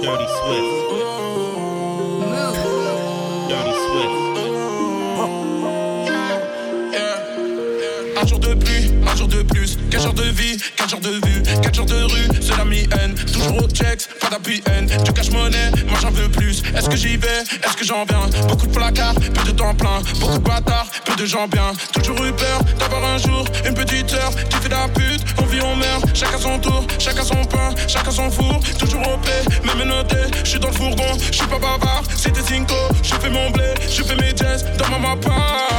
Dirty Swift. Dirty Swift. Un jour de pluie, un jour de plus. 4 jours de vie, 4 jours de vue, 4 jours de rue, c'est la mi-haine. Toujours au checks, pas d'appui haine. Du cash-monnaie, moi j'en veux plus. Est-ce que j'y vais, est-ce que j'en viens? Beaucoup de placards, peu de temps plein. Beaucoup de bâtards, peu de gens bien. Toujours eu peur d'avoir un jour une petite sœur qui fait de la pute. On vit, on meurt, chacun son tour, chacun son pain, chacun son four. Toujours au paix, même noté. J'suis dans le fourgon, j'suis pas bavard. C'était Cinco, je fais mon blé, je fais mes jazz dans ma mappa.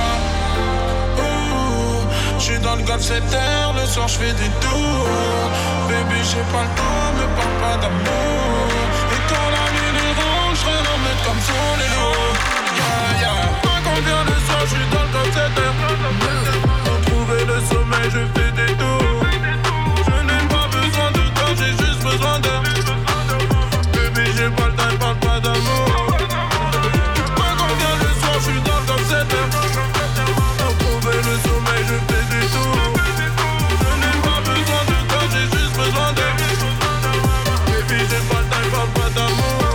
J'suis dans le golf 7 heures, le soir j'fais des tours. Baby j'ai pas le temps, me parle pas d'amour. Et quand la nuit est rouge, j'serai en mettre comme sur les loups. Yeah, yeah. Quand on vient le soir, j'suis dans le golf 7 heures. Pour trouver le sommeil, je fais des tours. Je n'ai pas besoin de toi, j'ai juste besoin de. Baby j'ai pas le temps, parle pas d'amour. Quand on vient le soir, j'suis dans le golf 7 heures. Pour trouver le sommeil, je fais des tours. Je n'ai pas besoin de toi, j'ai juste besoin de. Baby, j'ai pas le temps, parle pas d'amour.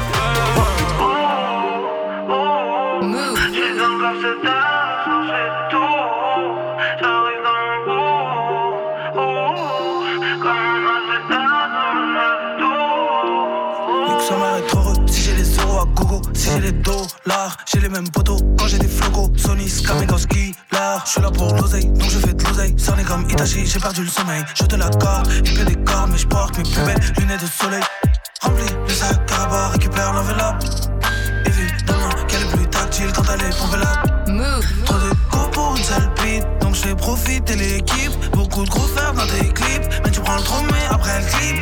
J'suis dans le golf 7 heures, je fais des tours. J'arrive dans mon beau. Comme on a fait tard, on a fait tout. Nique sa mère est trop rude, si j'ai les euros à gogo. Si j'ai les dollars, j'ai les mêmes potos. Quand j'ai des flocos, Sony, Skamegoski. J'suis là pour l'oseille, donc je fais de l'oseille. Cerné comme Itachi, j'ai perdu le sommeil. Je te l'accorde, il pleut des corps, mais j'porte mes plus belles lunettes de soleil. Remplis le sac à rabat, récupère l'enveloppe. Évidemment qu'elle est plus tactile quand elle est pompelable. Trop de go pour une seule bite, donc je fais profiter l'équipe. Beaucoup de gros fer dans tes clips, mais tu prends le trop mais après le clip.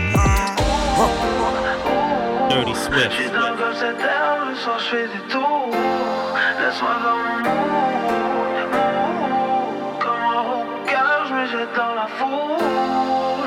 Dirty Swift. J'suis dans le golf 7 heures, le soir j'fais des tours. Laisse-moi dans mon mood. Comme un rouquin, j'me jette dans la foule.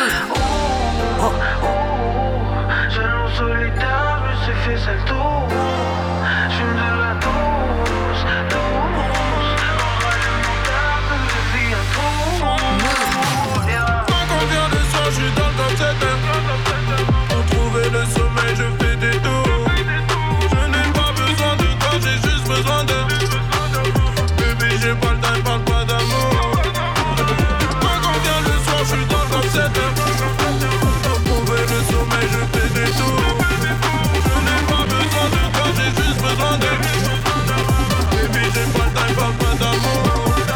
Jeune solitaire, j'me suis fait seul tour. J'fume de la douce, douce. On va le monter, que je vis un trou. Quand on vient le soir, j'suis dans le golf 7 heures. Pour trouver le sommeil, je fais des tours. Je n'ai pas besoin de toi, j'ai juste besoin de. Baby, j'ai pas le temps, parle pas d'amour. Quand on vient le soir, j'suis dans le golf 7 heures. Pour trouver le sommeil, je fais des tours. Je n'ai pas besoin de toi, j'ai juste besoin de. Baby, j'ai pas le temps, parle pas d'amour.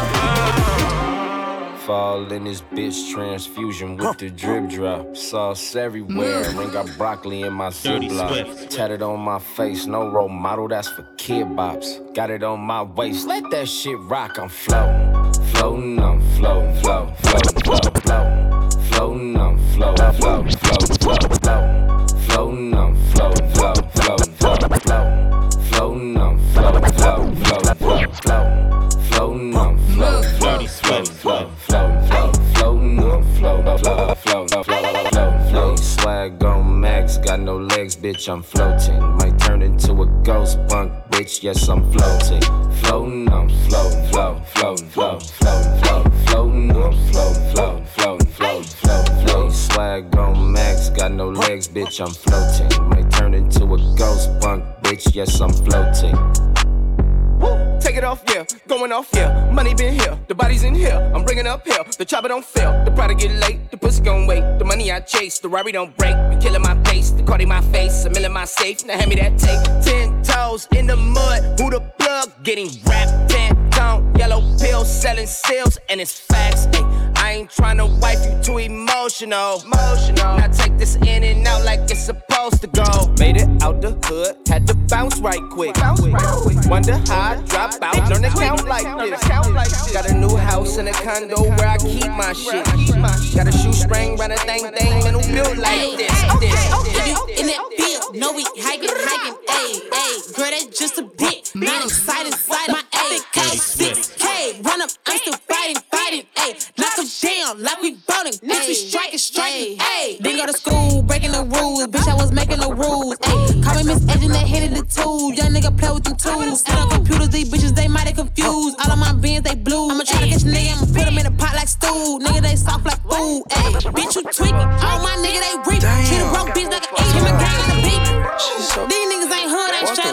Fall in this bitch, transfusion with the drip drop. Sauce everywhere, ring got broccoli in my Ziploc. Tatted on my face, no role model, that's for kid bops. Got it on my waist, let that shit rock, I'm floating. Floating, I'm floating, floating, floating, floating, floating. Floating, I'm floating, floating, floating, floating, floating. Floating, I'm floating, floating, floating, floating, floating. Floating, I'm floating, floating, floating, floating, floating. Floating, I'm floating, floating, floating, floating, floating, I'm floating, floating. Swag on max, got no legs, bitch, I'm floating. Might turn into a ghost punk, bitch, yes, I'm floating. Floating, I'm floating, floating, floating, floating, floating, floating, I'm floating, floating, floating, floating, floating. Swag on max, got no legs, bitch, I'm floating. Might turn into a ghost punk, bitch, yes, I'm floating. Take it off, yeah, going off, yeah. Money been here, the body's in here. I'm bringing up hell, the chopper don't fail. The product get late, the pussy gon' wait. The money I chase, the Rari don't break. Be killing my pace, the Cardi my face. A mill in my safe, now hand me that tape. 10 toes in the mud, who the plug? Getting wrapped, 10 tone, yellow pills, selling seals, and it's facts. Ay, I ain't tryna wipe you too emotional. Now take this in and out like it's supposed to go. Made it out the hood, had to bounce right quick. Wonder how I drop out, learn to count like this. Got a new house and a condo where I keep my shit. Got a shoestring, run a thing, and who built like this. In that field, no we hiking, ayy. Girl, that's just a bit. Not excited, my epic case 6K. Run up, I'm still fighting, ayy. Knock them down like we bowling. Bitch, we striking, ayy. Didn't go to school, breaking the rules. Bitch, I was making the rules, ayy. Call me Miss Edge and they hated the tools. Young nigga play with them tools. And on computers, these bitches, they mighty confused. All of my beans, they blue. I'ma try to catch a nigga, I'ma put them in a pot like stew. Nigga, they soft like food, ayy. Bitch, you tweaking. All my nigga, they reap. Treat a broke bitch like an E. Him and gang on the beat.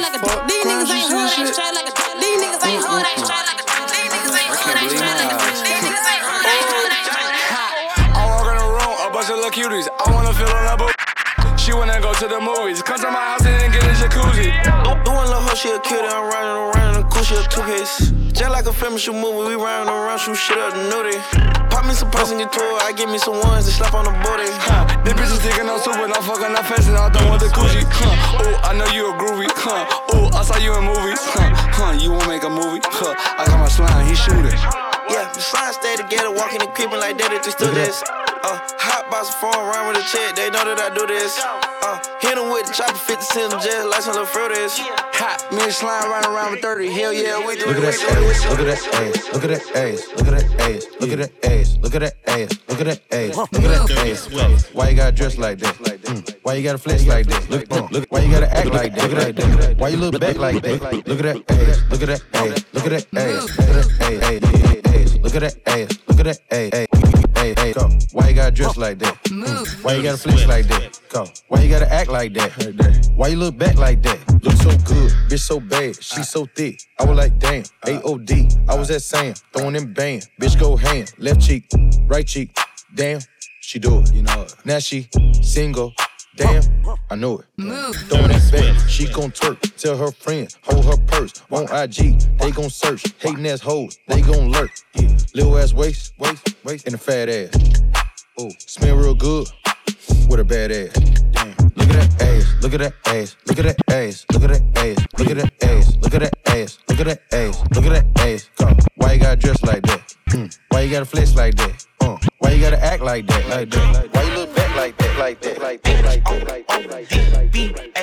like a duck. These niggas ain't hood, ain't straight like a duck. These niggas ain't hood, ain't straight like a duck. These niggas ain't hood, ain't straight like a duck. These niggas ain't hood, ain't hood, ain't straight like a duck. I walk in the room, a bunch of little cuties. I wanna feel on her booty. She wanna go to the movies. Come to my house and get a jacuzzi. Doing little hoe, she a cutie. I'm riding around in a cool, she a two-piece. Just like a film shoot movie, we riding around, shoot shit up the nudie. Pop me some pussy and get to it, I give me some ones to slap on the booty. This bitch is taking no soup, but I'm fucking up fast and I don't want the coochie. Oh, I know you a groovy. Oh, I saw you in movies. You won't make a movie. I got my slime, he shooting. Yeah, the slime stay together, walking and creeping like that, just do this. Hot box phone around with a check, they know that I do this. Hit him with the chopper, 50 cents, just like some little fruit is. Hot, me and slime riding around with 30. Hell yeah, we do it. Look at that ass, look at that ass, look at that ass, look at that ass, look at that ass, look at that ass, look at that ass, look at that ass. Why you gotta dress like that? Why you gotta flex like that? Look, why you gotta act like that? Look at that. Why you look back like that? Look at that ass, look at that ass, look at that ass, look at that ass, look at that ass, look at that ass. Hey, go. Why you gotta dress like that? Why you gotta flex like that? Go. Why you gotta act like that? Why you look back like that? Look so good, bitch so bad, she so thick. I was like, damn, AOD. I was at Sam, throwing them band. Bitch go hand, left cheek, right cheek. Damn, she do it. You know it. Now she single. Damn, I know it. Throwing that back, she gon' twerk. Tell her friend, hold her purse. On IG, they gon' search. Hating ass hoes, they gon' lurk. Yeah. Little ass waist, and a fat ass. Oh, smell real good with a bad ass. Damn. Look at that ass, look at that ass, look at that ass, look at that ass, look at that ass, look at that ass, look at that ass, look at that ass. Come, why you gotta dress like that? Why you gotta flex like that? Why you gotta act like that? Like that? Why you look back like that? Like that? Like that? Like that? Like that? Like that?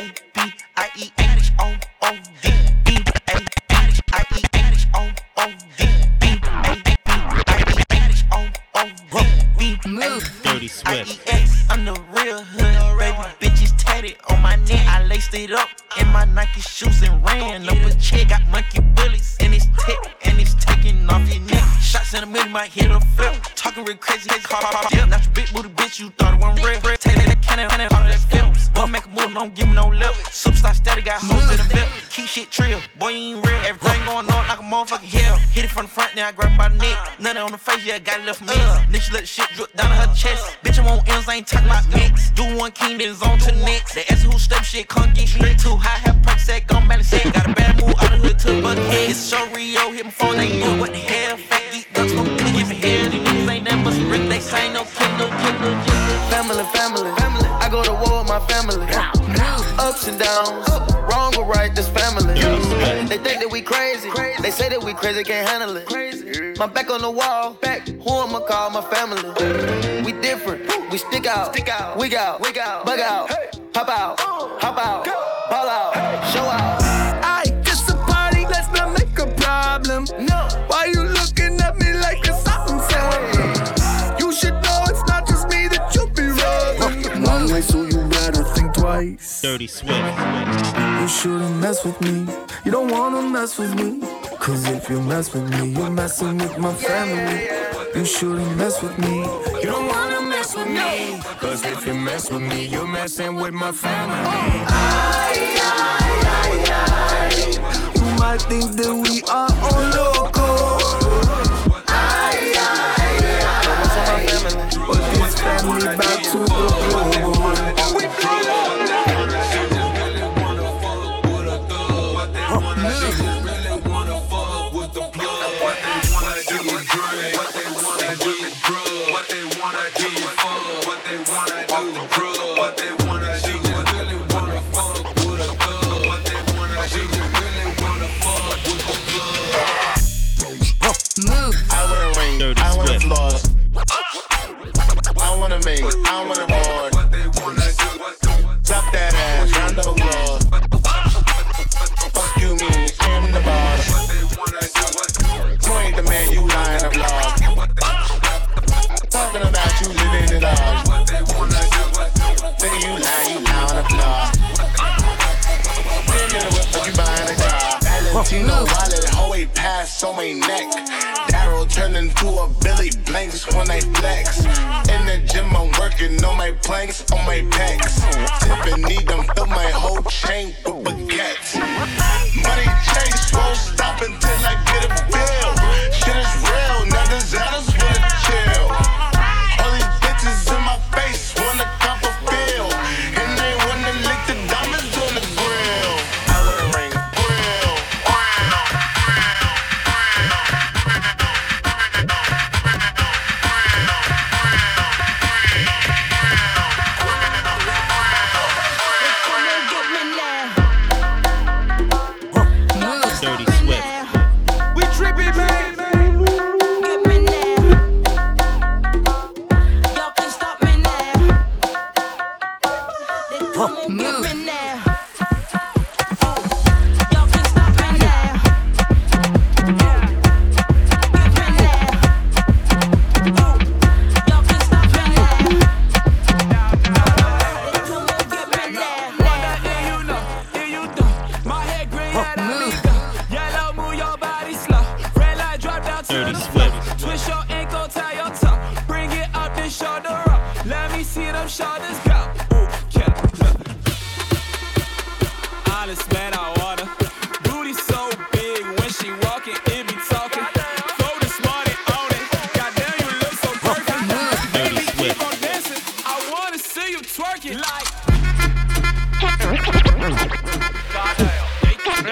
B-A-B-I-E-H-O-O-D. Dirty Swift. I'm the real hood, baby. Bitches tatted on my neck. I laced it up in my Nike shoes and ran up a check. Got monkey bullets in his tech and it's taking off your neck. Shots in the middle, might hit a flip. Talking real crazy, yeah. Not your big booty bitch, you thought it wasn't real. Take that cannon, all of that film. Don't make a move, don't give me no lip. Superstar steady, got hoes in the belt. Keep shit trill, boy, you ain't real. Everything going on like a motherfucking hell. Hit it from the front, now I grab by the neck. Nothing on the face, yeah, got it left for me. Nigga let the shit drip down to her chest. Bitch, I'm on M's, I ain't talking about mix. Do one king, then it's on to the next. They ask who step shit, can't get straight too high. Have perk set, gon' balance set. Got a bad move out of hood to the bucket head. It's so Rio, hit my phone, they do what the hell. Fat geek ducks, gon' give me hair. These niggas ain't that much brick, they say no killer. Family. I go to war with my family. Ups and downs, wrong or right, this family. They think that we crazy. They say that we crazy, can't handle it. My back on the wall, who I'ma call my family? We different, we stick out, wig out, bug out, hop out, ball out, show out. Aight, it's a party, let's not make a problem. No, why you looking at me like it's something? You should know it's not just me that you be rubbing. Long way, so you better think twice. Dirty Swift. You shouldn't mess with me. You don't wanna mess with me. Cause if you mess with me, you're messing with my family. You shouldn't mess with me. You don't wanna mess with me. Cause if you mess with me, you're messing with my family. You might think that we are on loco. But this family back to the global. I wanna board. Drop that ass round the world. Fuck you mean, I'm the boss. You ain't the man, you lying a vlog. Talking about you living it all. Nigga, you lie on the vlog. Nigga, what you buying a car? Valentino wallet, always pass on my neck. Daryl turned into a Billy Blanks when I flex. In the gym, I'm working on my planks, on my pecs. Tiffany done fill my whole chain with baguettes.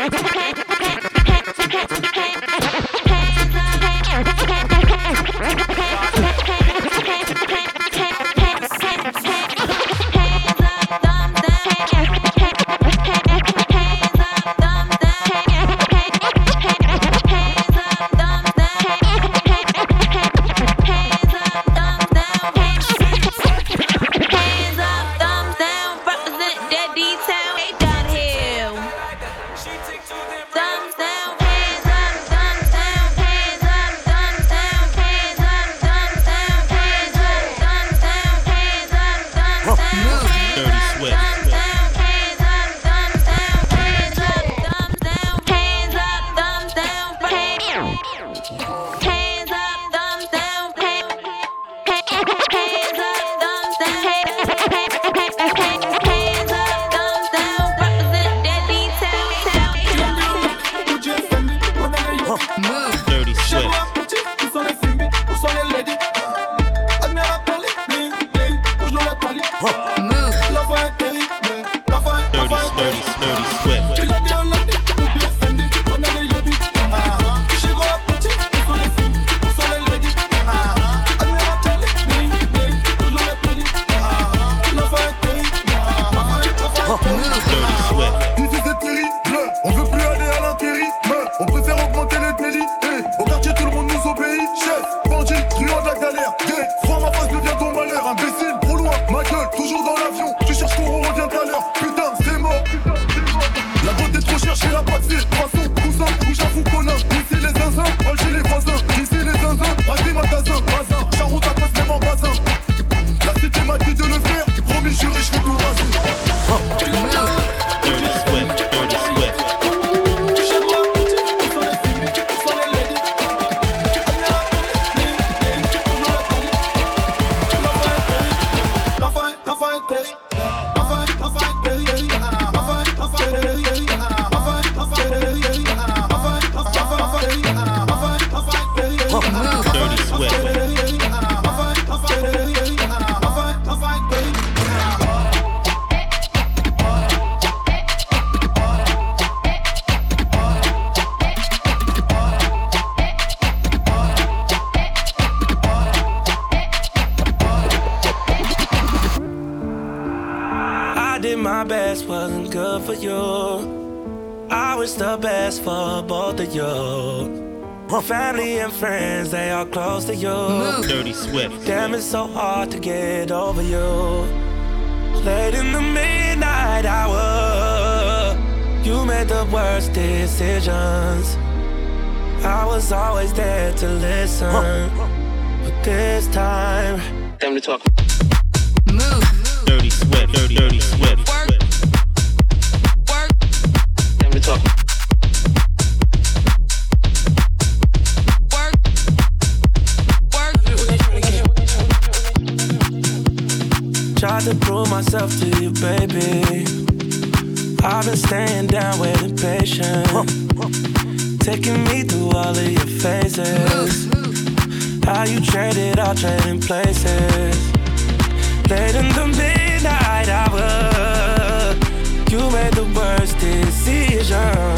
Family and friends, they are close to you. Dirty Swift. Damn, it's so hard to get over you. Late in the midnight hour, you made the worst decisions. I was always there to listen, but this time, time to talk. Dirty Swift. Dirty Swift. Time to talk. Tried to prove myself to you, baby. I've been staying down with impatience, taking me through all of your phases. How you traded all trading places. Late in the midnight hour, you made the worst decisions.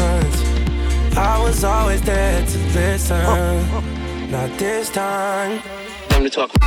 I was always there to listen. Not this time. Time to talk.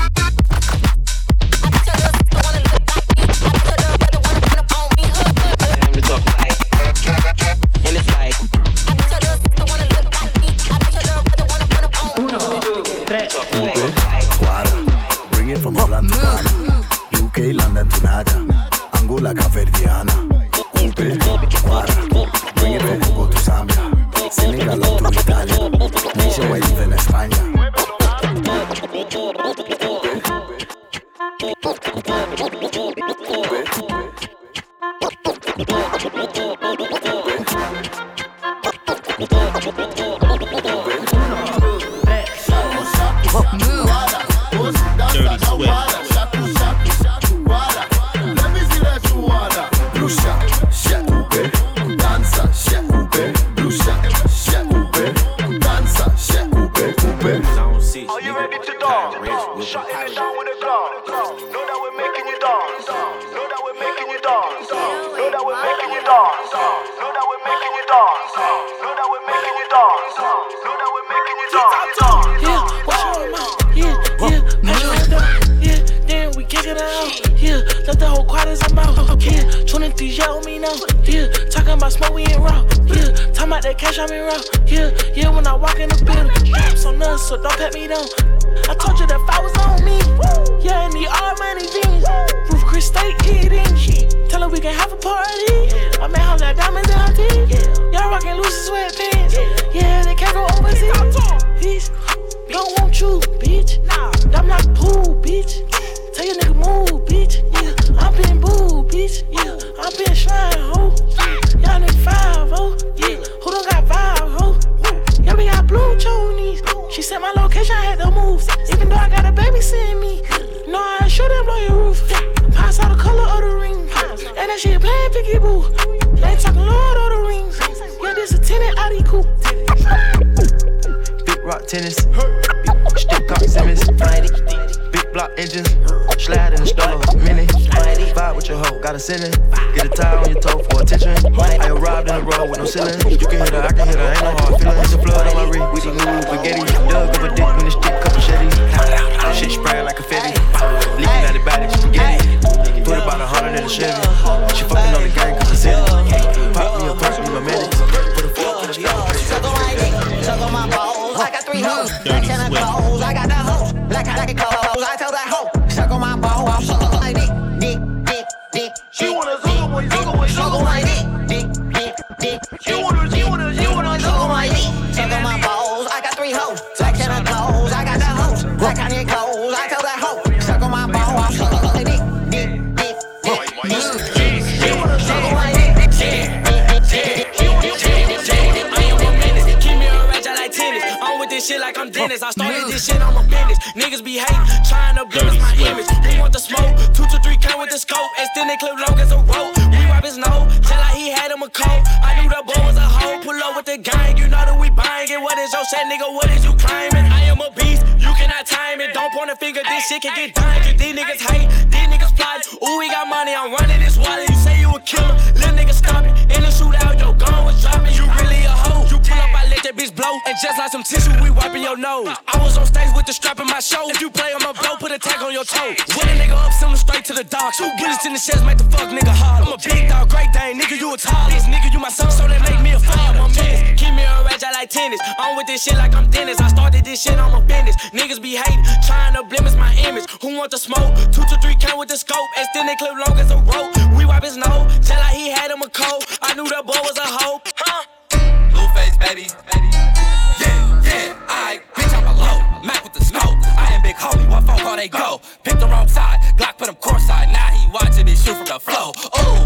Bring it from Holland to Ghana, UK, London to Naga, Angola, Caverdiana. Coupe, Guara, bring it from Congo to Zambia, Senegal to Italia, nationwide even España. Know that we're making you dance. these yell me now. Yeah, talking about smoke, we ain't raw. Yeah, talking about that cash, I'm in raw. Yeah, when I walk in the building, straps on us, so don't pat me down. I told you that if I was on me. Yeah, in the all money jeans. Roof Chris State eating. Tell her we can have a party. My man house got diamonds in her teeth. Y'all rockin' loose sweatpants. Yeah, they can't go overseas. Don't want you, bitch. I'm not pool, bitch. Tell your nigga move, bitch. Yeah, I'm being boo, bitch. Yeah, I'm being shrine, ho. Y'all need 5, ho. Yeah, who don't got 5, ho? Yeah, we got blue chonies. She said my location, I had to move. Even though I got a baby seeing me. No, I should have blow your roof. Pass out the color of the ring. And that shit playing picky boo. They talking Lord of the Rings. Yeah, this a tenant Audi coupe. Big rock tennis. Stick cock Simmons. Big block engines. Slide in the stroller. Mini. Vibe with your hoe. Got a sinning. Get a tie on your toe for attention. I arrived in the road with no ceiling. You can hit her, I can hit her. Ain't no hard feeling. It's a flood on my rig. We these new spaghetti. Dug up a dick when the stick cup machetes. Shit spraying like confetti. Leaking out the body. Spaghetti. Put about 100 in the Chevy. She fucking on the gang cause I said it. Pop me a punch me my minutes. Put a fuck in the stove. Suck on my dick, suck on my balls. I got 3 hoes. Black tennis clothes. I got that hoe. Black clothes. I tell that hoe. Suck on my balls. Suck on my dick. Dick. She wanna suck on my dick. Dick. She wanna suck on my dick. Suck on my balls. I got 3 hoes. Black tennis clothes. I got that hoe. Black clothes. I tell that hoe. Suck on my balls. Suck on my dick. Shit like I'm Dennis. I started this shit on my business. Niggas be hating, trying to blemish my image. Who want the smoke? 2 to 3 count with the scope. Extended clip long as a rope. We wipe his nose, tell like he had him a coat. I knew the boy was a hoe. Pull up with the gang, you know that we buying it. What is your set, nigga? What is you claiming? I am a beast, you cannot time it. Don't point a finger, this shit can get done. These niggas hate, these niggas plot. Ooh, we got money, I'm running this wallet. You say you a killer, little nigga stop it. In the shootout, your gun was dropping. You really a hoe. You pull up, I let that bitch blow. And just like some tissue, we wiping your nose. I was on stage with the strap in my show. If you play on my blow, put a tag on your toe. When a nigga up, send him straight to the dock. 2 bullets in the chest, make the fuck nigga hard. I'm a big dog, great dane, nigga, you a tall. This nigga, you my son, so they make me a fan. I'm tennis, keep me a rage, I like tennis. I'm with this shit like I'm Dennis. I started this shit on my business. Niggas be hating, trying to blemish my image. Who want the smoke? 2 to 3 count with the scope. Extended clip long as a rope. We wipe his nose, tell like he had him a coat. I knew that boy was a hoe. Blueface, baby. Yeah, I bitch, I'm a low. Mac with the smoke. I am big homie, what phone call they go? Pick the wrong side, Glock put him courtside. Now he watching me shoot from the flow. Ooh,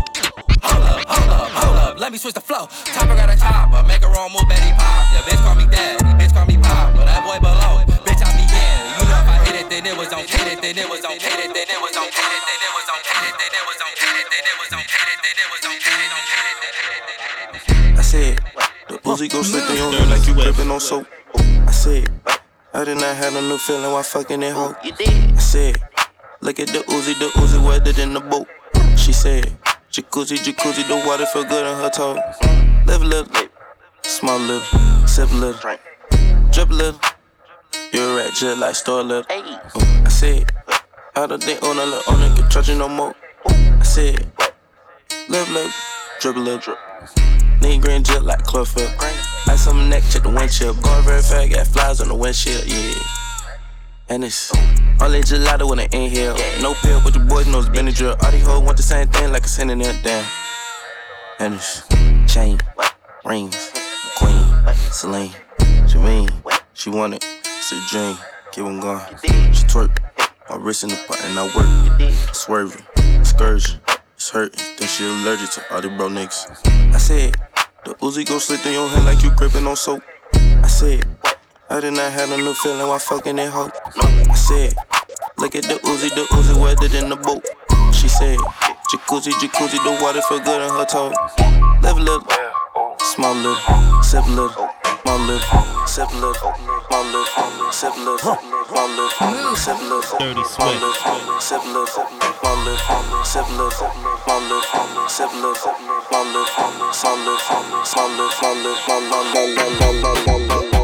hold up, let me switch the flow. Topper got a chopper, make a wrong move, Betty pop. Yeah, bitch call me daddy, bitch call me pop. But that boy below, bitch I be in. You know if I hit it, then it was on. Hit it, then it was on. Hit it, then it was on. Hit it, then it was on. Hit it, then it was on. Hit it, then it was on. Hit it, then it was on. Hit it, I said, the Uzi gon' slip in your hand like you gripping on soap. I said, I did not have a new feeling while fucking that hoe. I said, look at the Uzi wetter than the boat. She said, jacuzzi, the water feel good on her toe. Live a little, small little, sip a little, drip a little. You're a rat just like store a little. I said, I don't think on a little, on nigga trust you no more. I said, live a little, drip a little. Nigga green jet like chlorophyll. Ice on my neck, check the windshield. Going very fast, got flies on the windshield, yeah. And it's only gelato when it inhale. No pill, but the boys know it's been a drill. All these hoes want the same thing like a synonym, damn. And it's chain, rings, queen, Celine, Jermaine. She want it, it's a dream. Keep on going. She twerk, my wrist in the pot and I work. Swerving, excursion, it's hurting. Think she allergic to all the bro niggas. I said, the Uzi gon' slip through your hand like you gripping on soap. I said, I did not have a new feeling while fucking that hoe. I said, look at the Uzi wetter than the boat. She said, jacuzzi, the water feel good on her toe. Live a little, small little, sip a little, small little, sip a little, small little, sip a little, small little, sip a little, small little, sip a little, small little, sip a little, small little, sip a little, small little, small little, small little, small little.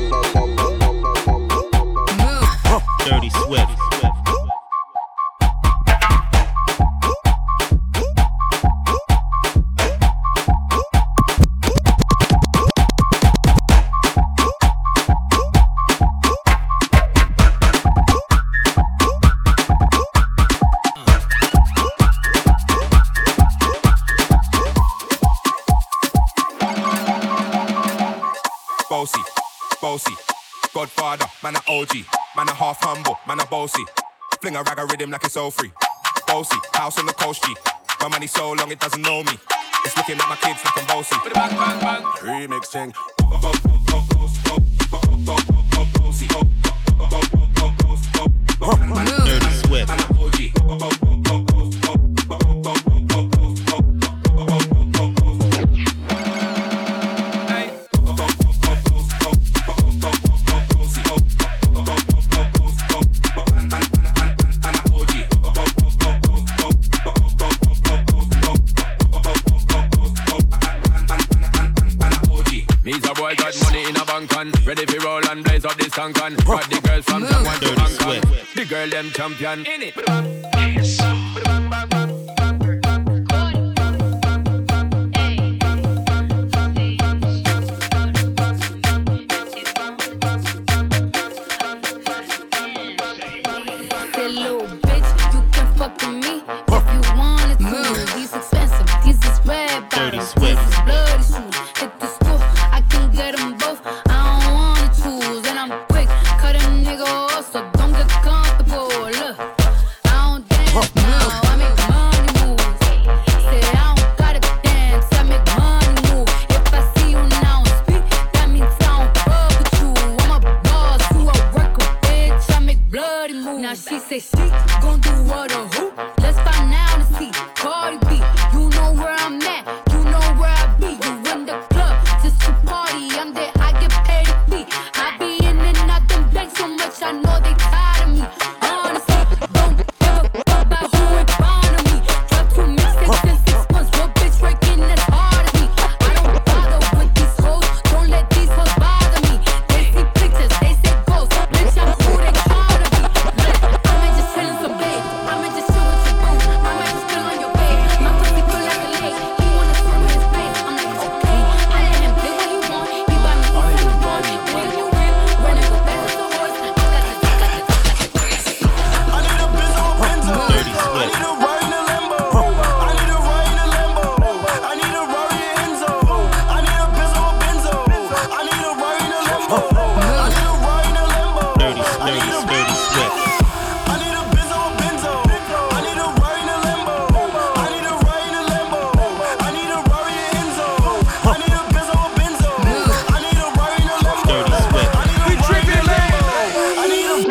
Dirty Swift. bossy, bossy. Godfather, man a OG, man a half humble, man a bossy. Fling a rag a rhythm like it's all free. Bossy, house on the coast G. My money so long it doesn't know me. It's looking at my kids like I'm bossy. Bang, bang, bang. Remix thing. Dirty Swift. Ready for roll and blaze up this cancan. But the girls from someone to Hong Kong. The girl them champion. In it. Little bitch, you can fuck with me if you wanted to. These expensive, these is red bottoms, these is bloody shoes. Hit the school, I can get them both. I don't wanna choose, and I'm quick, cut a nigga off, so don't get comfortable. Look, I don't dance now, I make money moves. Say I don't gotta dance, I make money move. If I see you now speak, that means I don't fuck with you. I'm a boss, you a worker, bitch. I make bloody moves. Now she say she gon' do what or who? Let's find out and see. Cardi B, you know where I'm at, you know where I be. You in the club just to party. I'm there, I get paid to be. I be in and out them banks so much, I know they tired of me. Honestly, don't give a fuck about who in front of me. Drop 2 mixtapes in 6 months, real bitch working as hard as me. I don't bother with these hoes, don't let these hoes bother me. They see pictures, they say ghosts, bitch I'm who they try to be. I might just chill in some bed, I might just chill with your boo, I might just chill on your bed. My pussy feel like a lake, he wanna swim with his face. I'm like okay, I let him play what he want. He buy me all he want, when you win, running go fast as a horse. I got the I need a Benzo, Benzo. Dirty I Swift. need a ride in a Lambo. I need a ride in a Lambo. I need a Rari Enzo. I need a Benzo, Benzo. I need a ride in a Lambo. I need a ride in a Lambo. Dirty Swift. I need a Benzo, Benzo. I need a ride in a Lambo. I need a ride in a Lambo. I need a Rari Enzo. I need a Benzo, Benzo. I need a ride in a Lambo. Dirty Swift. I need a ride in a Lambo. I need a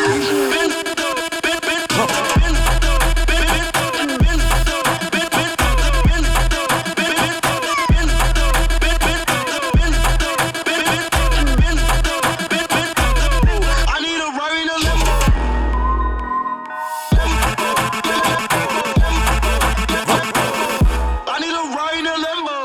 I need a ride in a Lambo. I need a ride in a Lambo.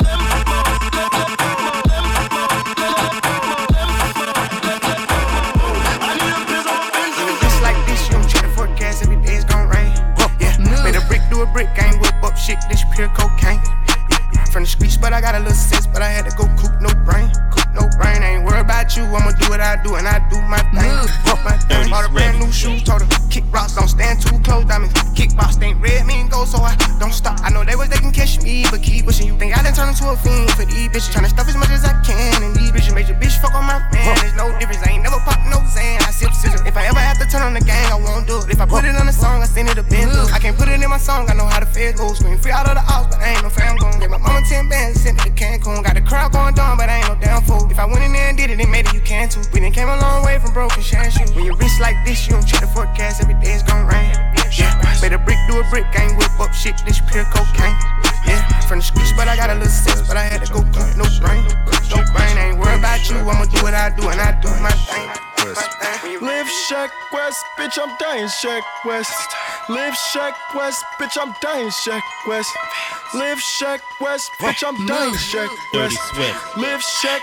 I need a Benzo. Just like this, you don't check the forecast, every day it's gon' rain. Yeah, made a brick do a brick, I ain't whip up shit, this pure cocaine. Yeah. From the streets, but I got a little sense, but I had to go coop no brain. No brain, I ain't worried about you, I'ma do what I do, and I do my thing. My thing. Bought a brand new shoes, told her, kick rocks, don't stand too close, diamonds. Kickbox ain't red, mean gold, so I don't stop. I know they can catch me, but keep pushing. You think I done turned into a fiend for these bitches, tryna stuff as much as I can, and these bitches made your bitch fuck on my man. There's no difference, I ain't never popped no Zan, I sip scissors. If I ever have to turn on the gang, I won't do it. If I put it on a song, I send it a bento. I can't put it in my song, I know how the fed goes. Scream free out of the house, but I ain't no fam gon' get my mama 10 bands, sent it to Cancun. Got the crowd going down, but I ain't no damn fool. If I went in there and did it, they made it, you can too. We done came a long way from broken share shoes. When you rich like this, you don't check the forecast, every day it's gon' rain. Yeah, made a brick do a brick, I ain't whip up shit, this pure cocaine. Yeah, from the streets, but I got a little sense, but I had to go cook no brain. No brain, I ain't worried about you, I'ma do what I do, and I do my thing. Live Shack West, bitch, I'm dying Shack West. Live Shack West, bitch, I'm dying Shack West. Live Shack West, bitch, I'm dying Shack Dirty West. Swift. Live Shack.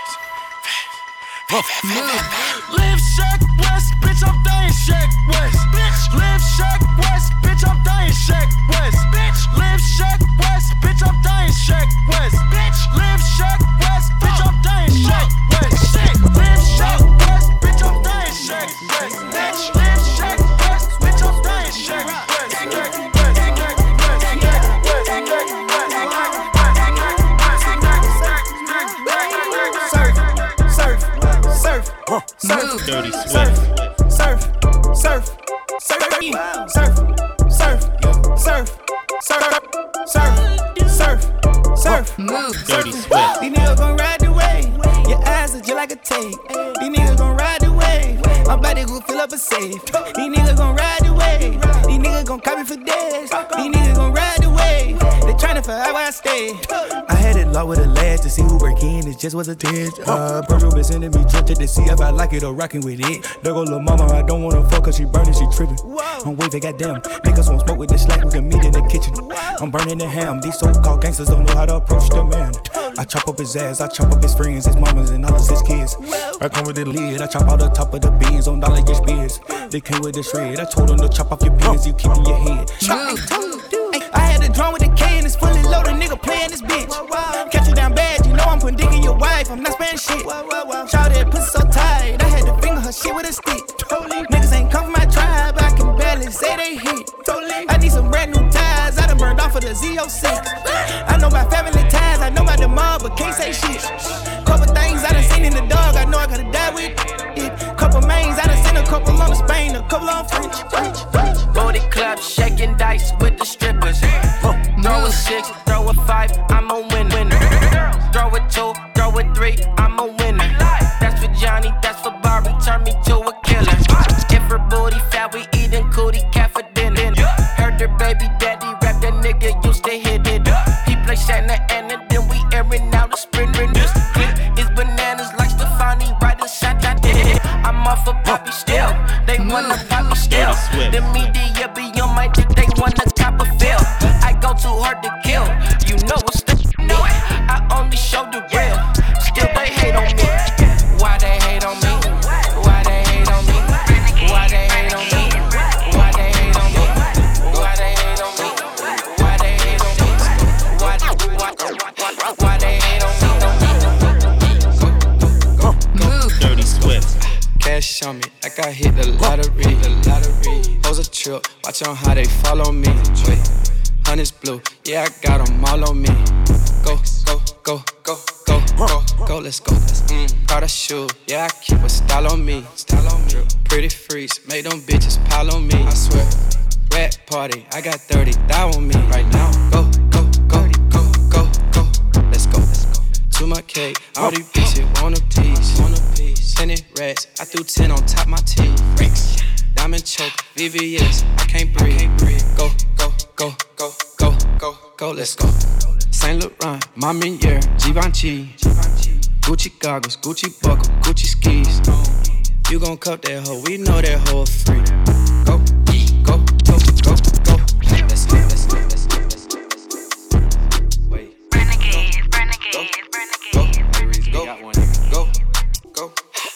Live Shack West, bitch, I'm dying Shack West. Live Shack West, bitch, I'm dying Shack West. Live Shack West, bitch, I'm dying Shack West. Live Shack West, bitch, I'm dying Shack West. Live Shack West, bitch, I'm dying Shack West. Live Shack West, bitch, I'm dying Shack West. Surf, surf. Surf, Dirty surf, Swift. surf, surf, surf, surf, surf, surf, surf, surf, surf, move. Dirty Swift. These niggas gon' ride the wave. Your eyes are just like a tape. These niggas gon' ride the wave. My body gon' fill up a safe. These niggas gon' ride the wave. These niggas gon' copy for days. These niggas gon' ride the wave. They tryna figure out where I stay. I had it locked with a lash to see who work in. It just was a test. Virgil been sending me tempted to see if I like it or rockin' with it. There go lil' mama, I don't wanna fuck cause she burning, she trippin'. I'm waving, goddamn. Niggas won't smoke with the slack, we can meet in the kitchen. I'm burning the ham. These so-called gangsters don't know how to approach the man. I chop up his ass, I chop up his friends, his mamas, and all of his kids. I come with the lid, I chop out the top of the beans on dollar get beers. They came with the shred, I told them to chop off your pins, you keep in your head. I had a drum with a K and it's fully loaded, nigga playing this bitch. Catch you down bad, you know I'm putting dick in your wife, I'm not sparing shit. Shout that pussy so tight, I had to finger her shit with a stick. Niggas ain't come from my tribe, I can barely say they hit. I need some brand new ties, I done burned off of the Z06. I know my family ties, I know my demand, but can't say shit. Couple things I done seen in the dog, I know I gotta die with it. Couple mains, I done seen a couple on the Spain, a couple on French. Booty club, shaking dice with the strippers. Throw a 6, throw a 5, I'm a winner. Throw a 2, throw a 3, I'm a winner. That's for Johnny, that's for Barbie, turn me to a killer. If her booty fat, we eatin' cootie cat for dinner. Heard her baby daddy rap, that nigga used to hit it. He play Santa Ana, then we airin' out the sprinter. This clip is bananas like Stefani, right inside that did. I'm off of Poppy still, they wanna Poppy still. The media be on my dick, they wanna cop a feel. I go too hard to kill, you know what's the no. I only show the real, still they hate on me. Why they hate on me? Why they hate on me? Why they hate on me? Why they hate on me? Why they hate on me? Why they hate on me? Why they hate on me? Dirty Swift. Cash on me, like I hit the lottery. Hoes a trip, watch on how they follow me. Wait, honey's blue, yeah, I got them all on me. Go, go, go, go, go, go, go, let's go. Prada shoe, yeah, I keep a style on me. Pretty freaks, make them bitches pile on me. I swear, rat party, I got 30 thou on me right now. Go, go, go, go, go, go, let's go. To my cake, all these bitches want a piece. 10 rats, I threw 10 on top my teeth. Diamond choke, VVS, I can't breathe. Go, go, go, go, go, go, go, let's go. Saint Laurent, Ma Meniere, Givenchy. Gucci goggles, Gucci buckle, Gucci skis. You gon' cup that hoe, we know that hoe free. Go, go, go, go, go. Let's go, let's go, let's go, let's go. Wait. Renegade, go, go, go, go.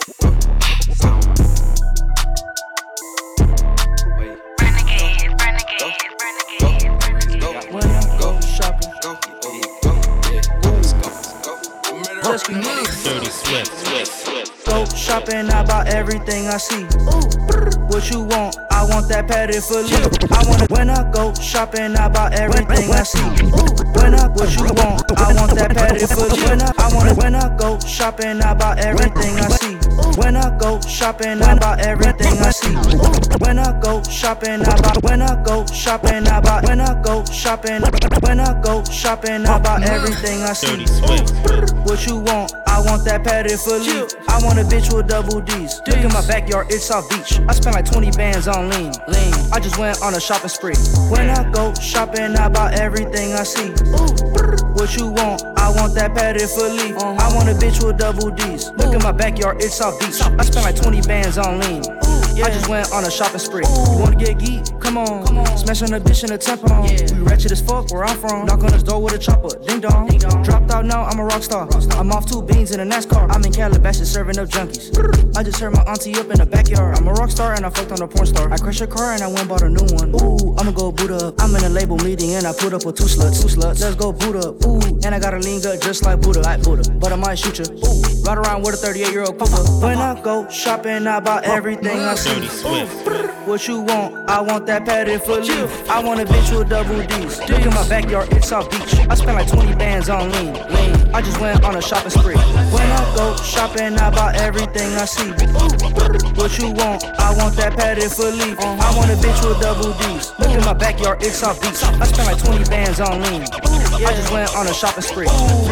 Dirty Swift. Go shopping, I buy everything I see. What you want? I want that patty for you. I want it when I go shopping, I buy everything I see. When I what you want? I want that patty for you. I want it when I go shopping, I buy everything I see. When I go shopping, I buy everything I see. When I go shopping, I buy. When I go shopping, I buy. When I go shopping, when I go shopping, I buy everything I see. What you want? I want that patty for you. I want a bitch with double D's. Look in my backyard, it's South Beach. I spent like 20 bands on lean. I just went on a shopping spree. When I go shopping, I buy everything I see. What you want? I want that patty for Lee. I want a bitch with double D's. Look in my backyard, it's South Beach. I spent like 20 bands on lean. I just went on a shopping spree. You wanna get geek? Come on. Smash on a bitch in a tampon. We ratchet as fuck where I'm from. Knock on his door with a chopper. Ding dong. Dropped out now, I'm a rock star. I'm off 2 beans in a NASCAR. I'm in Calabasas serving up junkies. I just heard my auntie up in the backyard. I'm a rock star and I fucked on a porn star. I crashed a car and I went bought a new one. Ooh, I'ma go boot up. I'm in a label meeting and I put up with 2 sluts. Let's go boot up. Ooh, and I got a lean gut just like Buddha. But I might shoot you. Ooh, ride around with a 38-year-old cougar. When I go shopping, I buy everything I see. What you want? I want that patty for you. I want a bitch with double D's. Look in my backyard, it's South Beach. I spent like 20 bands on lean. I just went on a shopping spree. When I go shopping, shopping, I bought everything I see. What you want? I want that padded for leaf. I want a bitch with double D's. Look in my backyard, it's off beach. I spent like 20 bands on lean. I just went on a shopping spree.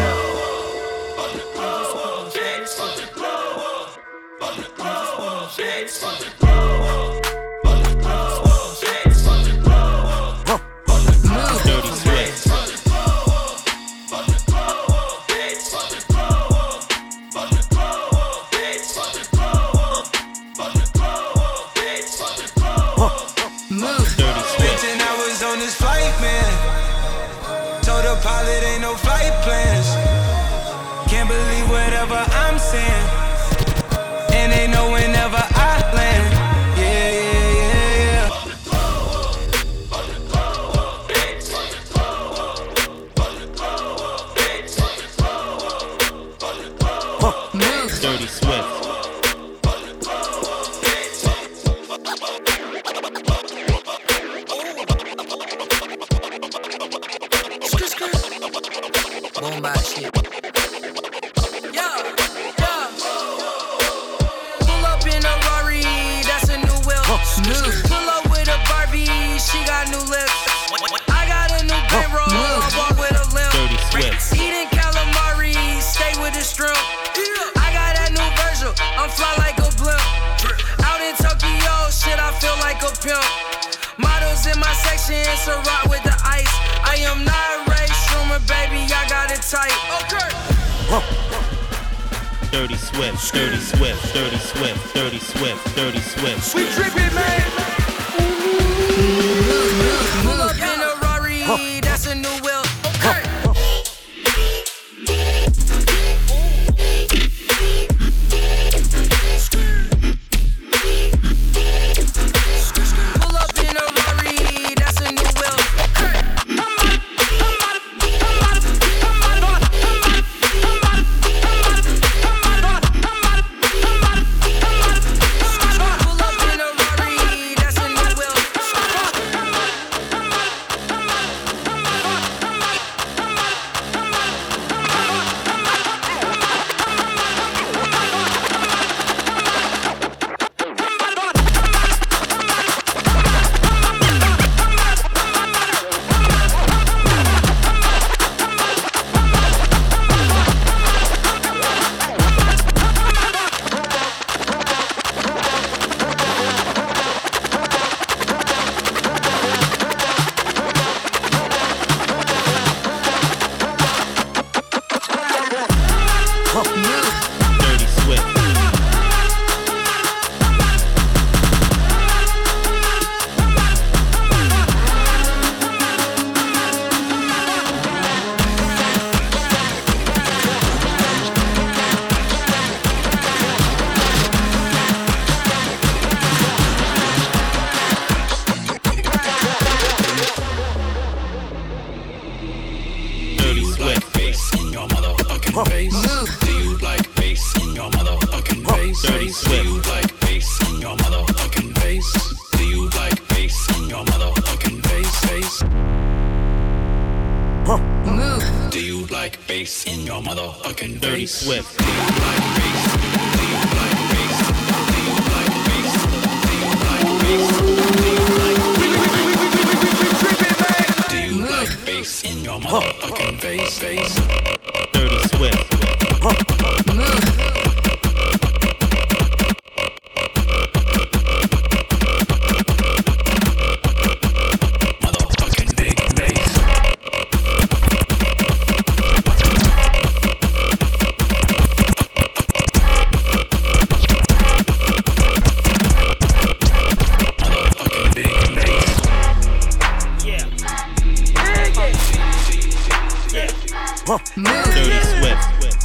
Pilot ain't no flight plans. Can't believe whatever I'm saying. And they know whenever I land. Yeah, yeah, yeah, yeah. Dirty Swift. Boom bap shit. Yeah. Pull up in a Rari, that's a new whip. Pull up with a Barbie, she got new lips. I got a new bankroll, I walk with a limp. Eating calamari, stay with the shrimp. I got that new Virgil, I'm fly like a blimp. Out in Tokyo, shit, I feel like a pimp. Models in my section, it's a rock with the ice. I am not Ray Schumer, baby, I got it tight. Okay. Dirty Swift, Dirty Swift, Dirty Swift, Dirty Swift, Dirty Swift. We trippin', man. Pull up in a Rari, that's a new wheel. Okay. Pull up in a Rari, that's a new wheel. Dirty Swift. Do you like bass in your motherfucking face? Dirty Swift. Dirty Swift.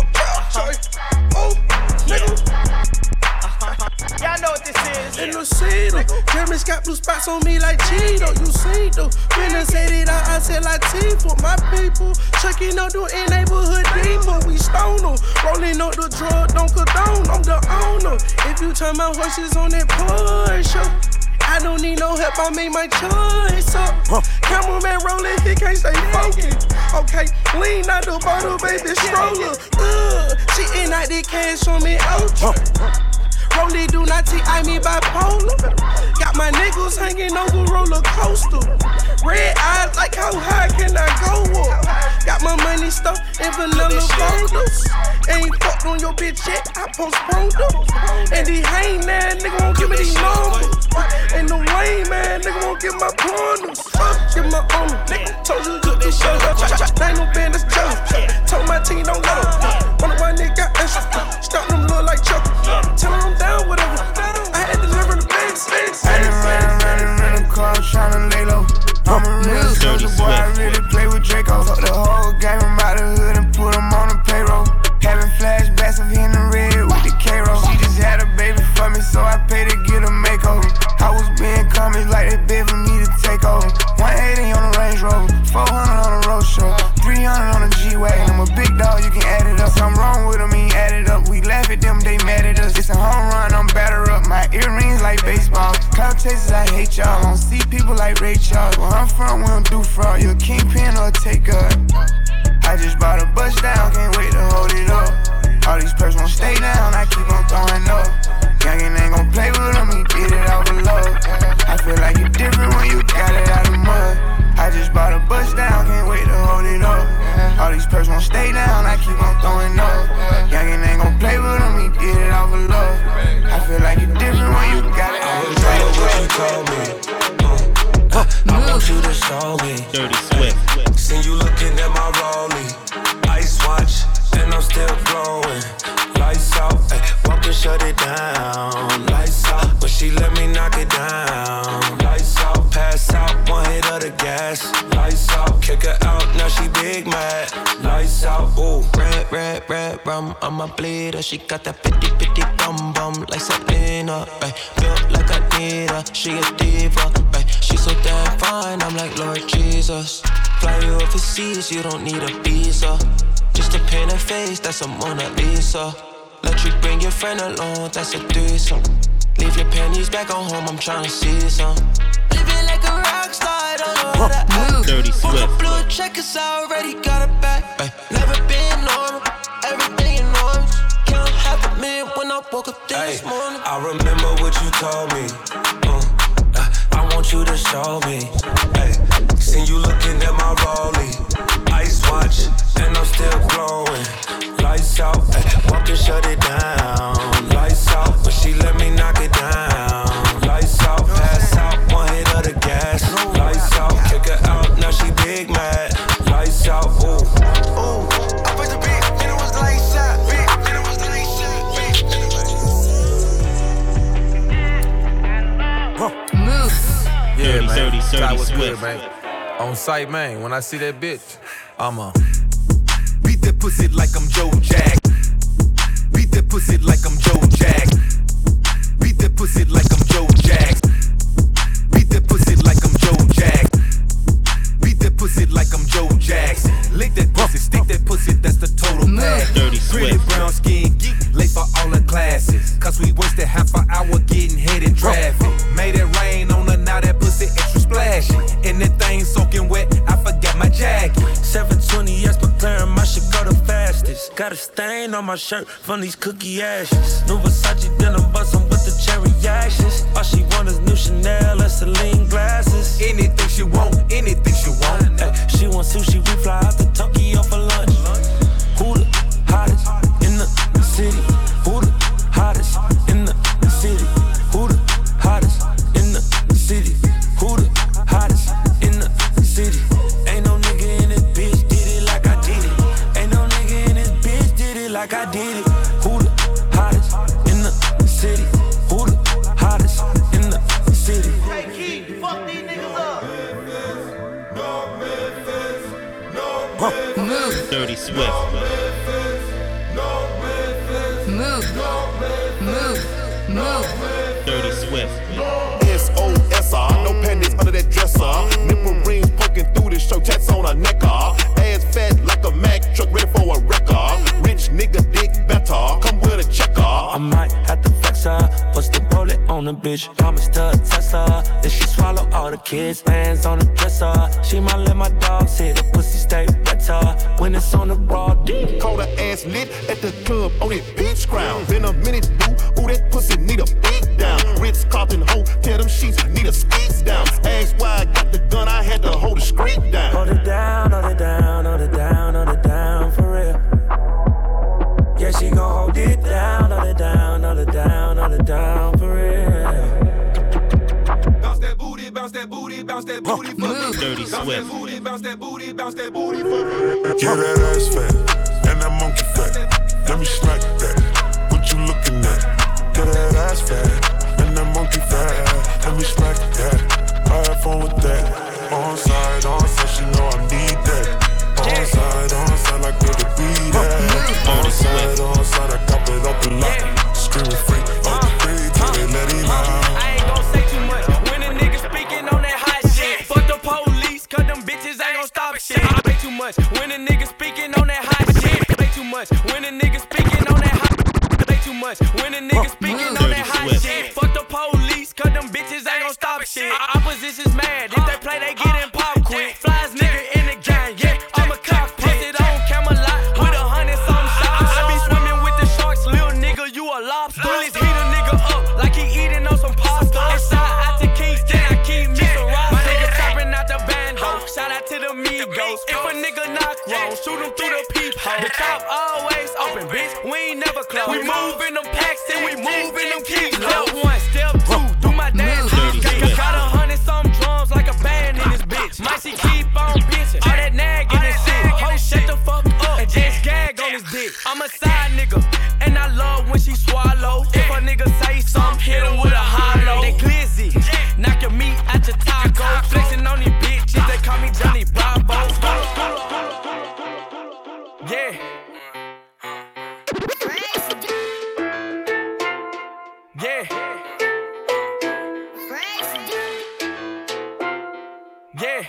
Y'all know what this is. In the cedar, Jeremy's got blue spots on me like Cheeto. You see though, when I say it out, I said like for my people. Checking out the neighborhood depot, we stone them. Rolling up the drug, don't condone. I'm the owner. If you turn my horses on that Porsche, I don't need no help, I made my choice up. Cameraman rolling, he can't stay focused. Okay, lean out the bottle, baby, stroller. She in out the cash on me, Rollie do not T.I. me bipolar. Got my niggas hanging over roller coaster. Red eyes like how high can I go up? Got my money stuffed in vanilla folders. Ain't fucked on your bitch yet, I postponed her. And the hangman nigga won't give me these numbers. And the lame man nigga won't give my corners. Give my owner, nigga told you to do shut up. Ain't no business judge. Told my team don't let up. One of my niggas got extra. Start them look like Chuck. Tell them I'm down, whatever. I had to deliver the base. I done ran in the car, tryna lay low. I'm a real soldier boy, I really play with Draco. Fuck the whole game, I'm out the hood and put him on the payroll. Having flashbacks of hitting the red with the K-roll. She just had a baby for me, so I paid to get a makeover. I was being commies like they bid for me to take over. 180 on the Range Rover, 400 on the road show, 300 on the G-Wagon. I'm a big dog, you can add it up. Something wrong with them, he add it up. We laugh at them, they mad at us. It's a home run, I'm batter up. My earrings like baseball. Cloud chasers, I hate y'all. I don't see people like Ray Charles. Where I'm from, we don't do fraud. You a kingpin or a taker. I just bought a bus down, can't wait to hold it up. All these perks won't stay down, I keep on throwing up. Youngin' ain't gon' play with him, he did it out of love. I feel like you different when you got it out of mud. I just bought a bus down, can't wait to hold it up. All these perks won't stay down, I keep on throwing up. Youngin' ain't gon' play with him, he did it out of love. I feel like you different when you got it out of love. I was what you told me. I want you to show me. Dirty Swift. Seen you looking at my rollie. Ice watch, and I'm still glowing. Lights out, ay, walk and shut it down. Lights out, but she let me knock it down. Lights out, pass out, one hit of the gas. Lights out, kick her out, now she big mad. Lights out, ooh. Red rum, I'm a bleeder. She got that bitty bum bum like Selena. Ay, built like I need her, she a diva. Ay, she so damn fine, I'm like Lord Jesus. Fly you overseas, you don't need a visa. Just to paint her face, that's a Mona Lisa. Let you bring your friend along, that's a threesome. Leave your panties back on home, I'm tryna see some. Living like a rock star, I don't know how to act. Dirty Swift. On the blue check, cause I already got it back. Never been normal, everything enormous. Count $500,000 when I woke up this morning. I remember what you told me. I want you to show me. Seen you looking at my rollie. Ice watch, and I'm still glowing. Lights out, walk and shut it down. Lights out, but she let me knock it down. Lights out, pass out, one hit of the gas. Lights out, kick her out, now she big mad. Lights out, ooh. Ooh, I put the beat, and it was lights out. And it was lights out. Move. Yeah, man. Dirty That was Swift. good, man. On sight, man. When I see that bitch, I'ma beat that pussy like I'm Joe Jack. Beat that pussy like I'm Joe Jack. Beat that pussy like I'm Joe Jack. Beat that pussy like I'm Joe Jack. Beat that pussy like I'm Joe Jackson. Lick that pussy, stick that pussy, that's the total pack. Dirty Pretty Swift. brown skin geek, late for all the classes. Cause we wasted half an hour getting hit in traffic. Made it rain on her, now that pussy extra splashy. And that thing soaking wet, I forgot my jacket. 720S, but clearing my shit go the fastest. Got a stain on my shirt from these cookie ashes. New Versace denim bustin' with the cherry actions. All she want is new Chanel and Celine glasses. Anything she want, anything she want. She want sushi, we fly out to Tokyo for lunch. Who the hottest in the city? Who the hottest in the city? Who the hottest in the city? Who the hottest in the city? Ain't no nigga in this bitch did it like I did it. Ain't no nigga in this bitch did it like I did it. Who the hottest in the city? Who the hottest in the city? Hey, Keith, fuck these niggas up. Move. Dirty Swift. Move. Dirty Swift. SOSR, no panties under that dresser. Nipple rings poking through the shirt, tats on her neck. Ass fat like a Mack truck, ready for a wrecker. Rich nigga dick better, come with a checker. I might have to flex her, what's the bullet on on the bitch. Promise to test her. If she swallow all the kids, hands on the dresser. She might let my dogs hit. The pussy stay wetter when it's on the broad D. Call her ass lit at the club on that beach ground. Been a minute, boo. Ooh, that pussy need a beat down. Ritz Carlton hoe, tear them sheets, need a skeets down. Ask why I got the gun, I had to hold the street down. Hold it down, hold it down, hold it down, hold it down for real. Yeah, she gon' hold it down, hold it down, hold it down, hold it down for real. Bounce that booty, bounce that booty, bounce that booty for me. Dirty Swift. Bounce that booty, bounce that booty for me. Yeah, that ass fat and that monkey fat. Let me smack that. What you looking at? Yeah, that ass fat and that monkey fat. Let me smack that. I have fun with that. On side, she know I need that. On side, like where to be that. On side, I cop it up a lot. Screaming free, free till they let him out. I ain't gon' say too much when a nigga speaking on that hot shit. Fuck the police, cause them bitches ain't gon' stop shit. I play too much when a nigga speaking on that hot shit. Play too much when a nigga speaking on that hot. Play too much when a nigga speaking on that hot shit. Fuck the police, cause them bitches ain't gon' stop shit. Opposition's mad, if they play they get in pop quick. Flies nigga in the gang, yeah, I'm a cockpit. Posted on Camelot with 100-something shots. I be swimming with the sharks, little nigga, you a lobster. Bullets heat a nigga up like he eating on some pasta. Inside out to Kingston, I keep me some rocks. My nigga tapping out the bando, shout out to the Migos. If a nigga knock wrong, shoot him through the peephole. The top always open, bitch, we ain't never close. We move in them packs and we move in them keys. Step 1, step 2, do my dance. Got 100-something drums like a band in this bitch. Might she keep on bitching, all that nagging and shit. Ho, shut the fuck up and just gag on his dick. I'm a side nigga, and I love when she swallow. If a nigga say something, hit him with a hollow. They glizzy, knock your meat out your taco. Flexing on these bitches, they call me Johnny Bravo. Yeah. Yeah. Yeah.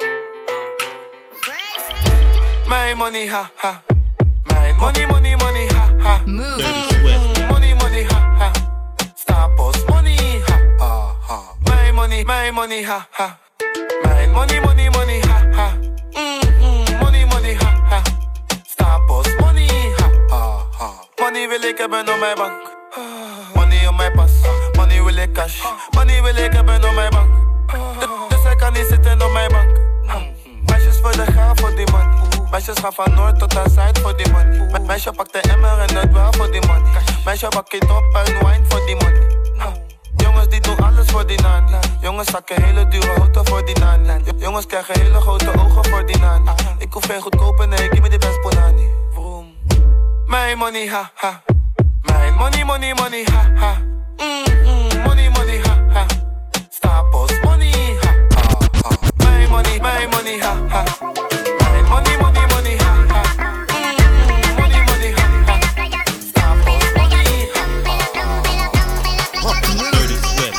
My money, ha ha. My money, money, money, ha ha. Money, money, ha ha. Star Post money, ha ha ha. My money, ha ha. My money, money, money, ha ha. Money, money, ha ha. Star Post money, ha ha ha. Money wil ik hebben op mijn bank. Money op mijn pas. Money wil ik cash. Money wil ik hebben op mijn bank. Dus hij kan niet zitten op mijn bank. Meisjes willen gaan voor die money. Meisjes gaan van noord tot aan zuid voor die money. Meisje pakt de emmer en het wel voor die money. Meisje pak het op en wine voor die money. Jongens die doen alles voor die nani. Jongens zakken hele dure auto voor die nani. Jongens krijgen hele grote ogen voor die nani. Ik hoef geen goedkope, nee, give me the best bonani. My money, ha ha. My money, money, money, ha ha. Money, money, ha ha. Star Post money, ha ha ha. My money, ha ha. My money, money, money, ha ha. Money, money, ha ha. Star Post money, ha ha. Dirty Swift.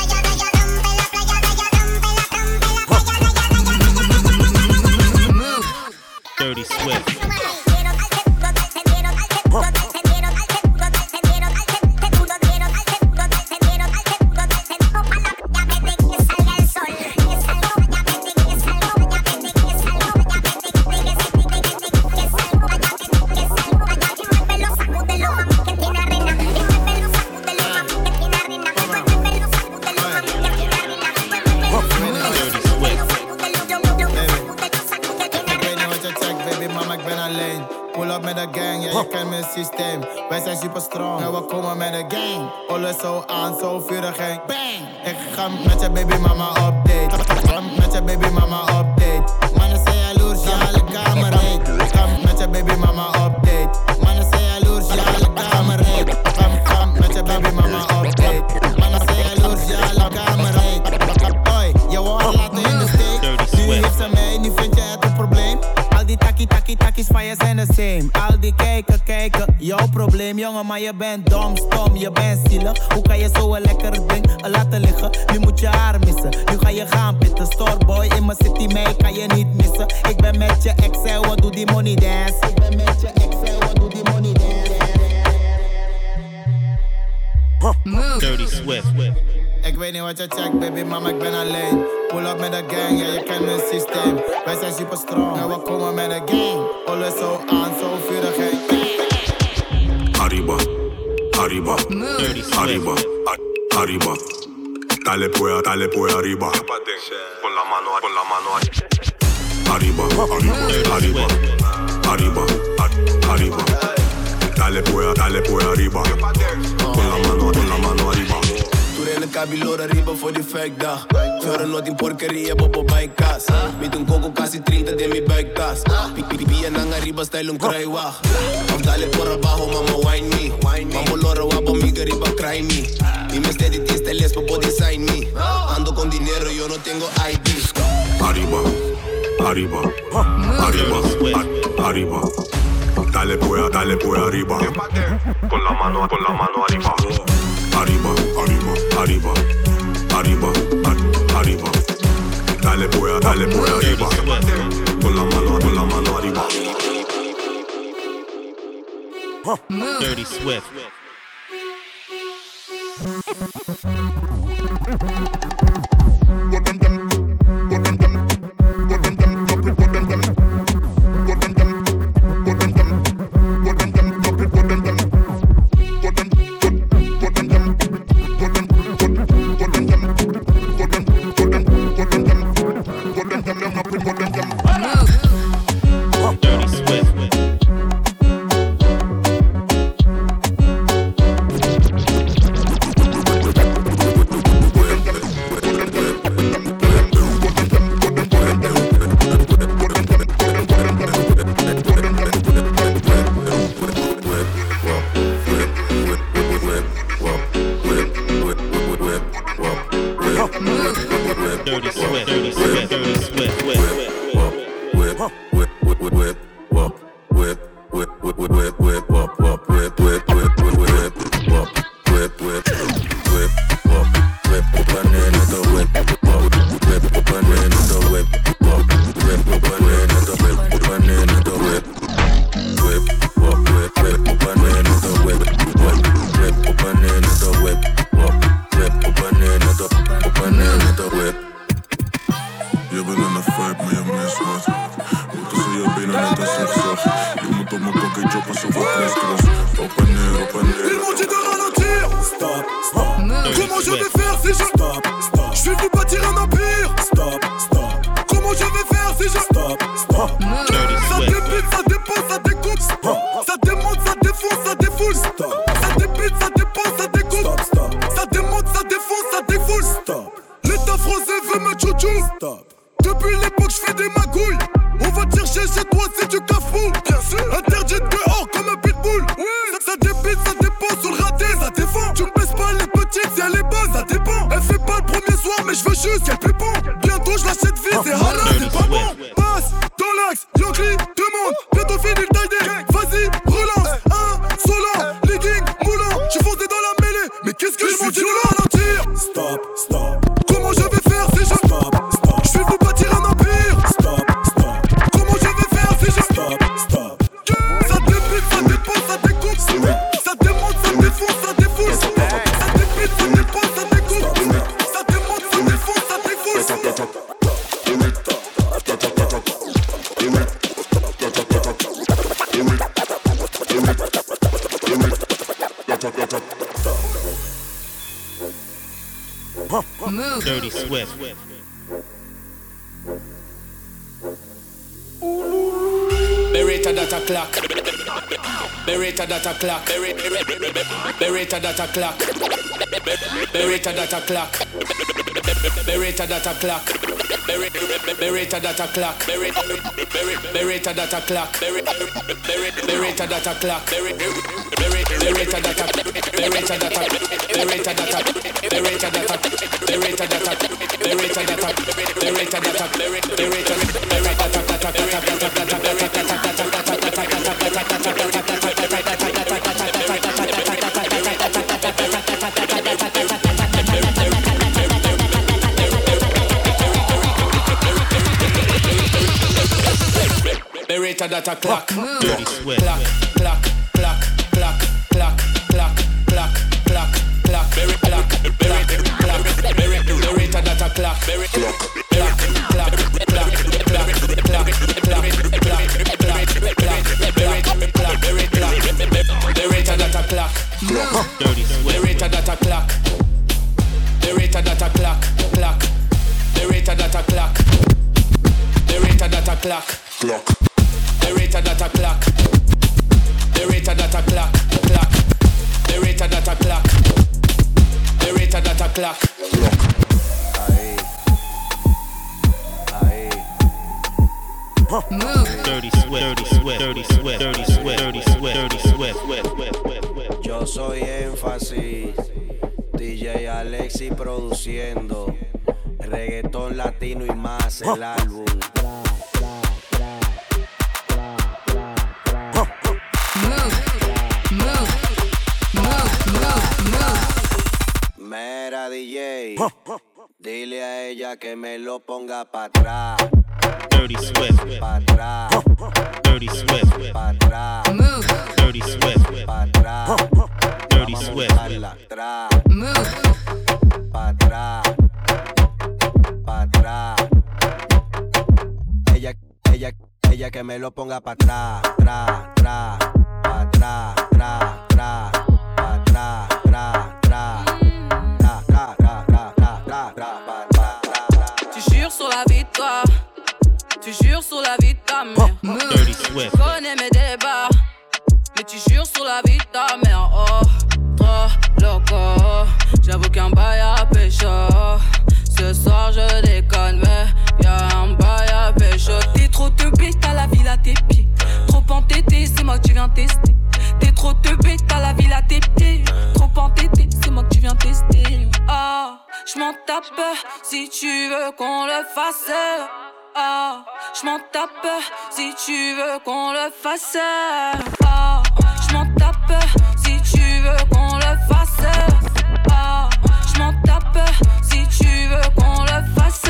Dirty Swift. Systeem. Wij zijn super strong en we komen met de gang. Alles zo aan, zo vurig en bang. Ik ga met je baby mama update. Met je baby mama update. Mannen zijn jaloers, ja, alle kamer heet. Ik ga met je baby mama update. Mannen zijn jaloers, ja, alle kamer heet. Ga met je baby mama update. Mannen zijn jaloers, ja, alle kamer heet. Hoi, je wordt laten in de steek. Nu heeft ze mij, nu vind je het een probleem. Al die takkies van je zijn de same. Al die kijken, jouw probleem jongen, maar je bent dom, stom, je bent zielig. Hoe kan je zo een lekker ding laten liggen? Nu moet je haar missen, nu ga je gaan pitten. Storeboy in mijn city, mij kan je niet missen. Ik ben met je ex en we doen die money dance. Ik ben met je ex en we doen die money dance. Dirty Swift. Ik weet niet wat je checkt, baby, mama, ik ben alleen. Pull up met de gang, ja, je kent mijn systeem. Wij zijn super strong, en we komen met de gang. Alles zo aan, zo vurig, hey. Arriba, arriba, arriba, arriba. Dale pues arriba. Con la mano arriba, arriba, arriba, arriba. Dale pues arriba. Con la mano arriba. Tú eres el cabilor arriba voor die vijfdag. Fjorden nooit in porqueria, bobo bij kaas. Met een coco casi 30 de mi buiktas. Pipi en ang arriba style un kruiwaag. Of dale por abajo, mama wine me. Mamo loro wabo mi arriba cry me. Y me steady tiste les por design me. Ando con dinero, yo no tengo ID. Arriba, arriba, arriba, arriba. Dale pues arriba. Con la mano arriba. Arriba, arriba, arriba, arriba, arriba. Dale pues arriba. Con la mano arriba. Dirty Swift. Dirty Swift. Beretta data clock. Beretta data clock. Beretta data clock. Beretta data clock. Beretta data clock. Beretta data clock. Beretta data clock. Beretta data clock. Beretta data. Beretta data. Beretta data. Beretta data. Beretta data. Beretta data. Beretta data. Beretta data clock. Dirty Swift. Clock, clock, clock, clock, clock, clock, clock, clock, clock, clock, clock, clock. Dirty Swift. The rate of that a clock. The rate of that a clock. Clock. The rate of that a clock. The rate of that a clock. Clock. The rate of that a clock. The rate of that a clock. Clock. The rate of that a clock. The rate of that a clock. Clock. Move. Dirty Swift, Dirty Swift, Dirty Swift, Dirty Swift, Dirty Swift, Dirty Swift. Yo soy Énfasis, DJ Alexi produciendo reggaetón latino y más el álbum. Mera DJ, dile a ella que me lo ponga pa' atrás. Dirty Swift, pa' atrás. Dirty Swift, pa' atrás. Dirty Swift, pa' atrás. Dirty Swift, atrás. Pa' atrás. Pa' atrás. Ella que me lo ponga pa' atrás. Tra, tra. Pa' atrás, tra, tra. Pa' atrás, tra, tra. Tu jures sur la vie de toi, tu jures sur la vie de ta mère. Dirty Swift. Tu connais mes débats, mais tu jures sur la vie de ta mère. Oh, trop loco, j'avoue qu'un bail à pécho. Ce soir je déconne, mais y'a un bail à pécho. T'es trop teubé, t'as la ville à tes pieds. Trop entêté, c'est moi que tu viens tester. T'es trop teubé, t'as la ville à tes pieds. Trop entêté, c'est moi que tu viens tester. Ah, j'm'en tape si tu veux qu'on le fasse. Ah, j'm'en tape si tu veux qu'on le fasse. Ah, j'm'en tape si tu veux qu'on le fasse. Ah, j'm'en tape si tu veux qu'on le fasse.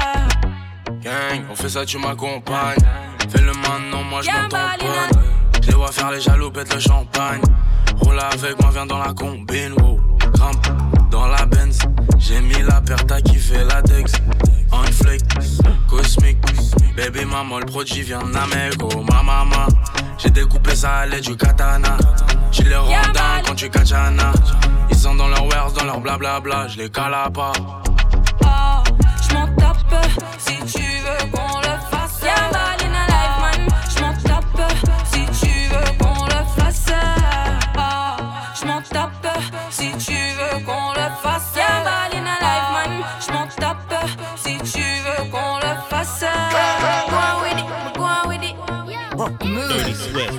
Gang, on fait ça, tu m'accompagnes. Fais le maintenant, moi je m'en tamponne. Je les vois faire les jaloux, pète le champagne. Roule avec moi, viens dans la combine, wow. Grimpe dans la Benz. J'ai mis la paire, t'as kiffé la Dex. On flick, cosmique. Baby maman, le produit vient d'Amérique, oh ma maman. J'ai découpé ça à l'aide du katana. Tu les rondins quand tu kachana. Ils sont dans leur wares, dans leur blablabla. Je les cala pas. Ah, j'm'en tape si tu veux qu'on le fasse. Y'a mal in a life man. J'm'en tape si tu veux qu'on le fasse. Ah, j'm'en tape si tu veux qu'on le fasse. Y'a mal in a life man. J'm'en tape si tu veux qu'on le fasse. Go on with it, go on with it. Dirty Swift.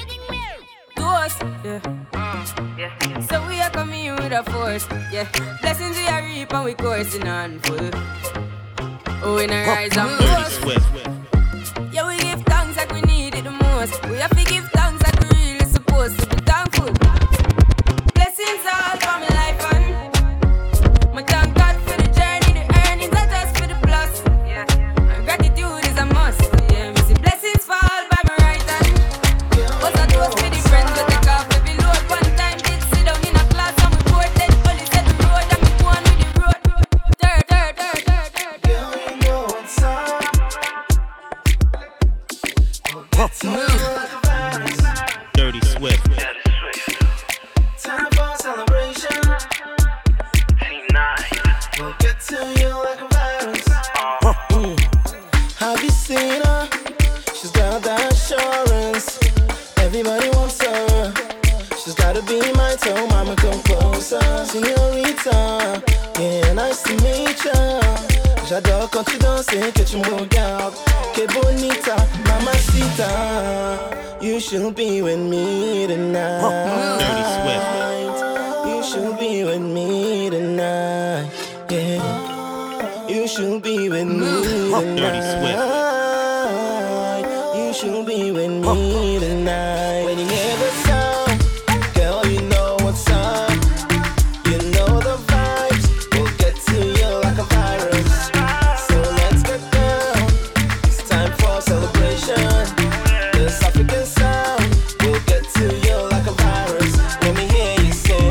Ghost, yeah. So we are coming with a force, yeah. Blessings we are reap and we coursing on full. Oh, in a rise and boast. Yeah, we give thanks like we need it the most. We have to give thanks like we really supposed to be thankful. Blessings all for my life and my thank God for the journey. The earnings are just for the plus. Yeah, and gratitude is a must. Yeah, me see blessings fall by my right hand. But I do us with the friends we take off every load. One time did sit down in a class and we board dead. Only set the road and we go on with the road. Girl, you know what's up. Dirty Swift. Time for celebration. We'll get to you like a virus. Have you seen her? She's got that assurance. Everybody wants her. She's gotta be mine, so mama come closer. Señorita, yeah, nice to meet ya. J'adore quand tu danses et que tu me regardes. Que bonita, mamacita. You should be with me tonight. Dirty Swift. You should be with me tonight. Yeah. You should be with me tonight. Dirty Swift. You should be with me tonight. When you hear the sound, girl, you know what's up. You know the vibes will get to you like a virus. So let's get down. It's time for celebration. This African sound will get to you like a virus. Let me hear you say,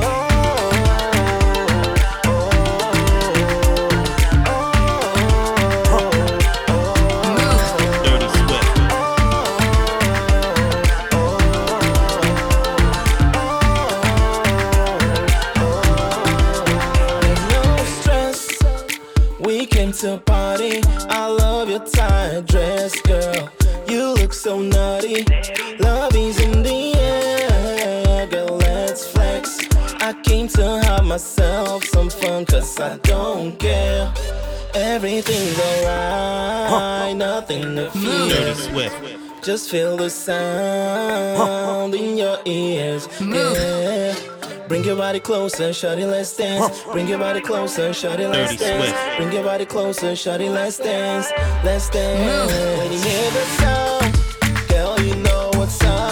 to party. I love your tight dress, girl. You look so nutty. Love is in the air, girl, let's flex. I came to have myself some fun, cause I don't care. Everything's alright, nothing to fear. Dirty Swift. Just feel the sound in your ears, yeah. Bring your body closer, shawty, let's dance. Bring your body closer, shawty, let's dance. Bring your body closer, shawty, let's dance. Let's dance. When you hear the sound, girl, you know what's up.